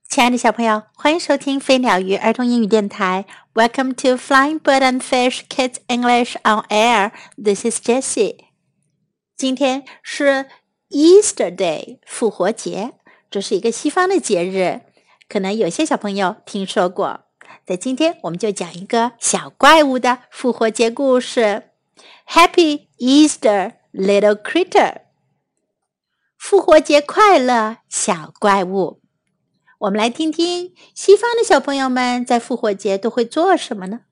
亲爱的小朋友，欢迎收听飞鸟鱼儿童英语电台。Welcome to Flying Bird and Fish Kids English on Air. This is Jessie. 今天是 Easter Day 复活节，这是一个西方的节日，可能有些小朋友听说过。在今天我们就讲一个小怪物的复活节故事。Happy Easter, little critter. 复活节快乐，小怪物。我们来听听西方的小朋友们在复活节都会做什么呢？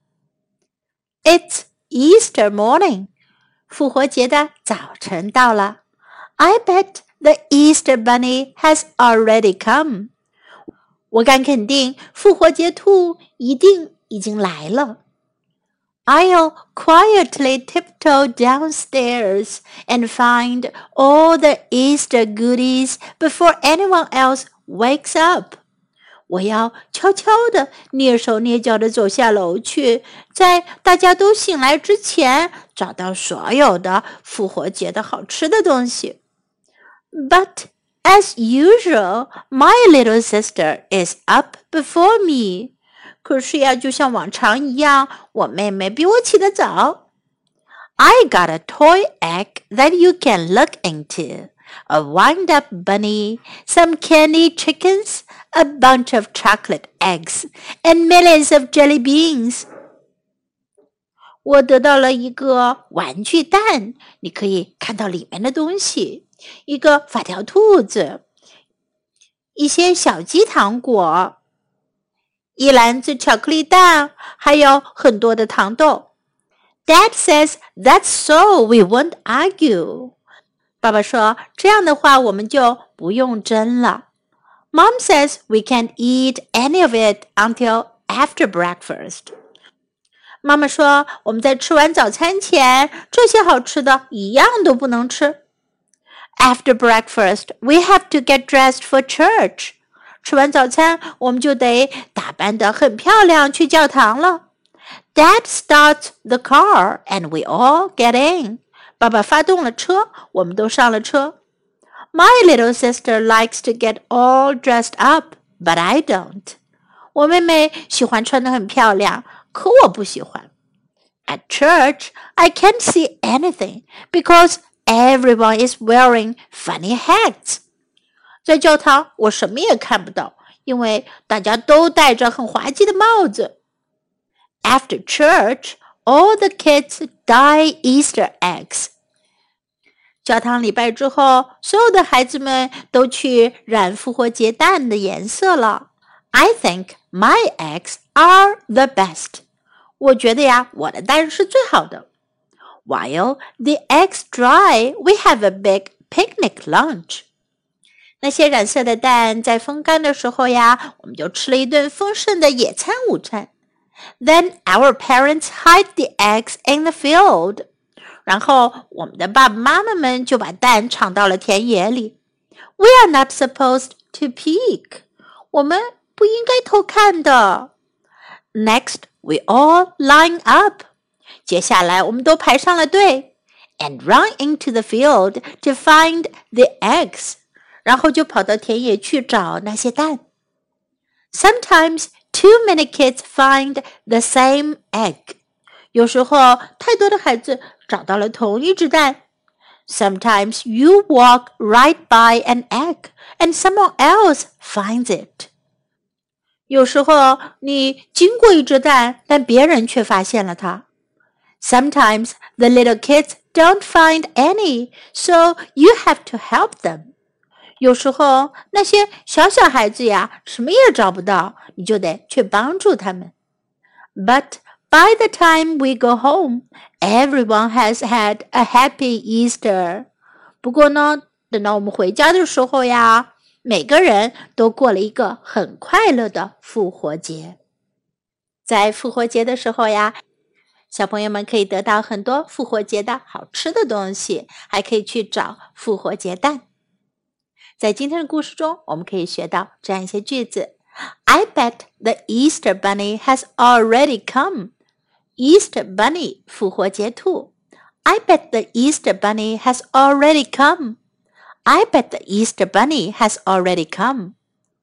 It's Easter morning. 复活节的早晨到了。I bet the Easter bunny has already come. 我敢肯定，复活节兔一定已经来了。I'll quietly tiptoe downstairs and find all the Easter goodies before anyone else wakes up. 我要悄悄地蹑手蹑脚地走下楼去，在大家都醒来之前找到所有的复活节的好吃的东西。But as usual, my little sister is up before me. 可是呀，就像往常一样，我妹妹比我起得早。I got a toy egg that you can look into.A wind-up bunny, some candy chickens, a bunch of chocolate eggs, and millions of jelly beans. 我得到了一个玩具蛋，你可以看到里面的东西，一个发条兔子，一些小鸡糖果，一篮子巧克力蛋，还有很多的糖豆。Dad says that's so we won't argue.爸爸说，这样的话我们就不用争了。Mom says we can't eat any of it until after breakfast. 妈妈说，我们在吃完早餐前，这些好吃的一样都不能吃。After breakfast, we have to get dressed for church. 吃完早餐，我们就得打扮得很漂亮去教堂了。Dad starts the car and we all get in.爸爸发动了车，我们都上了车。My little sister likes to get all dressed up, but I don't. 我妹妹喜欢穿得很漂亮，可我不喜欢。At church, I can't see anything because everyone is wearing funny hats. 在教堂，我什么也看不到，因为大家都戴着很滑稽的帽子。After church,all the kids dye Easter eggs. 教堂礼拜之后，所有的孩子们都去染复活节蛋的颜色了。I think my eggs are the best. 我觉得呀，我的蛋是最好的。While the eggs dry, we have a big picnic lunch. 那些染色的蛋在风干的时候呀，我们就吃了一顿丰盛的野餐午餐。Then our parents hide the eggs in the field. 然后我们的爸爸妈妈们就把蛋藏到了田野里。We are not supposed to peek. 我们不应该偷看的。Next, we all line up. 接下来我们都排上了队 and run into the field to find the eggs. 然后就跑到田野去找那些蛋。Sometimes too many kids find the same egg. 有时候太多的孩子找到了同一只蛋。Sometimes you walk right by an egg and someone else finds it. 有时候你经过一只蛋，但别人却发现了它。Sometimes the little kids don't find any, so you have to help them.有时候那些小孩子呀，什么也找不到，你就得去帮助他们。But by the time we go home, everyone has had a happy Easter. 不过呢，等到我们回家的时候呀，每个人都过了一个很快乐的复活节。在复活节的时候呀，小朋友们可以得到很多复活节的好吃的东西，还可以去找复活节蛋。在今天的故事中，我们可以学到这样一些句子。I bet the Easter bunny has already come. Easter bunny 复活节兔。I bet the Easter bunny has already come. I bet the Easter bunny has already come.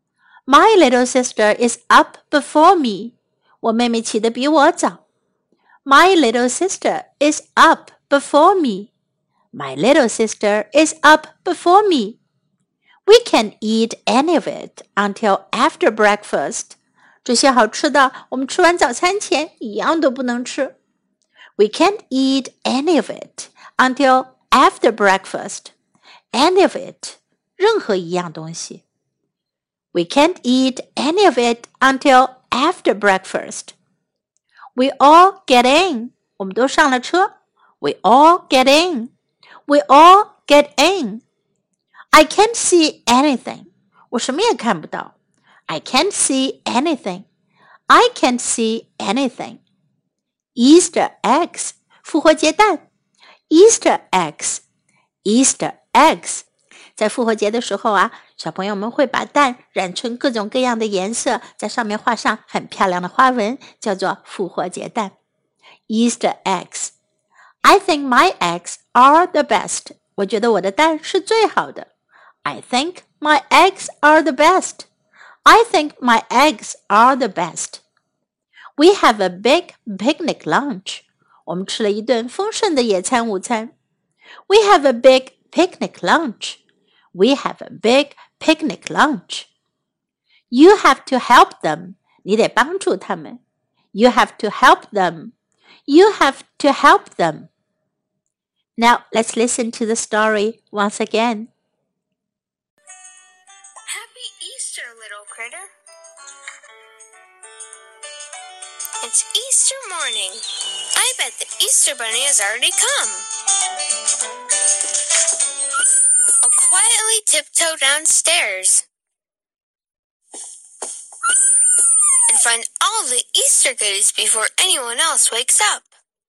My little sister is up before me. 我妹妹起得比我早。My little sister is up before me. My little sister is up before me. We can't eat any of it until after breakfast. 这些好吃的，我们吃完早餐前一样都不能吃。We can't eat any of it until after breakfast. Any of it, 任何一样东西。We can't eat any of it until after breakfast. We all get in. 我们都上了车。We all get in. We all get in. I can't see anything. 我什么也看不到。I can't see anything. I can't see anything. Easter eggs. 复活节蛋。Easter eggs. Easter eggs. 在复活节的时候啊，小朋友们会把蛋染成各种各样的颜色，在上面画上很漂亮的花纹，叫做复活节蛋。Easter eggs. I think my eggs are the best. 我觉得我的蛋是最好的。I think my eggs are the best. I think my eggs are the best. We have a big picnic lunch. 我们吃了一顿丰盛的野餐午餐。We have a big picnic lunch. We have a big picnic lunch. You have to help them. 你得帮助他们。You have to help them. You have to help them. Now let's listen to the story once again. Happy Easter, little critter. It's Easter morning. I bet the Easter bunny has already come. I'll quietly tiptoe downstairs and find all the Easter goodies before anyone else wakes up.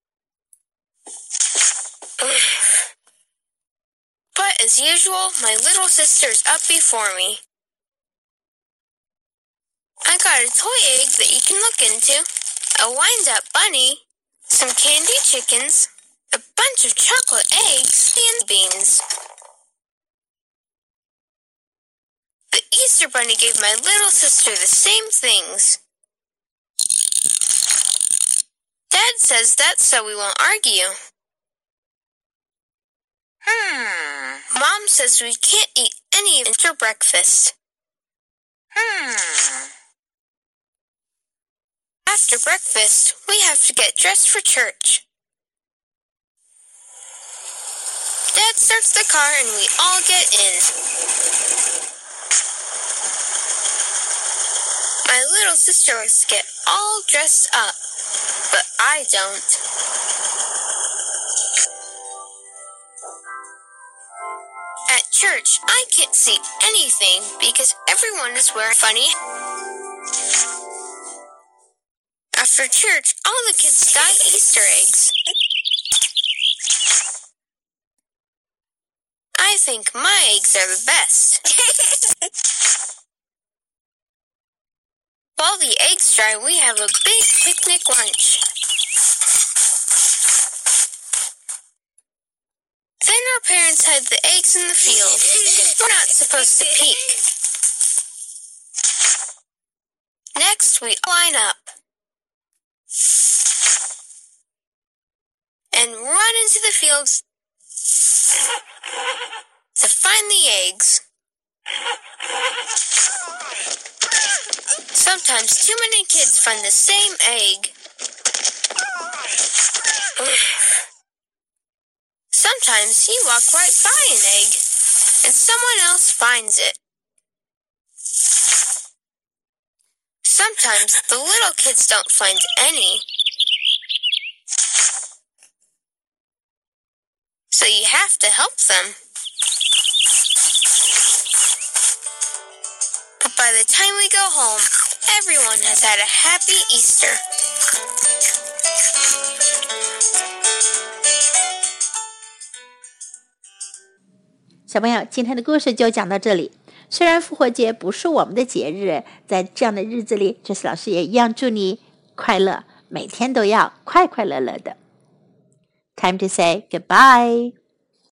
But as usual, my little sister's up before me. I got a toy egg that you can look into, a wind-up bunny, some candy chickens, a bunch of chocolate eggs, and beans. The Easter bunny gave my little sister the same things. Dad says that's so we won't argue. Mom says we can't eat any after breakfast. After breakfast, we have to get dressed for church. Dad starts the car and we all get in. My little sister likes to get all dressed up, but I don't. At church, I can't see anything because everyone is wearing funny. After church, all the kids got Easter eggs. I think my eggs are the best. While the eggs dry, we have a big picnic lunch. Then our parents hide the eggs in the field. We're not supposed to peek. Next, we line up and run into the fields to find the eggs. Sometimes too many kids find the same egg. Sometimes you walk right by an egg and someone else finds it. Sometimes the little kids don't find any. So you have to help them. But by the time we go home, everyone has had a happy Easter. 小朋友，今天的故事就讲到这里。虽然复活节不是我们的节日，在这样的日子里，Jessie老师也一样祝你快乐，每天都要快快乐乐的。Time to say goodbye.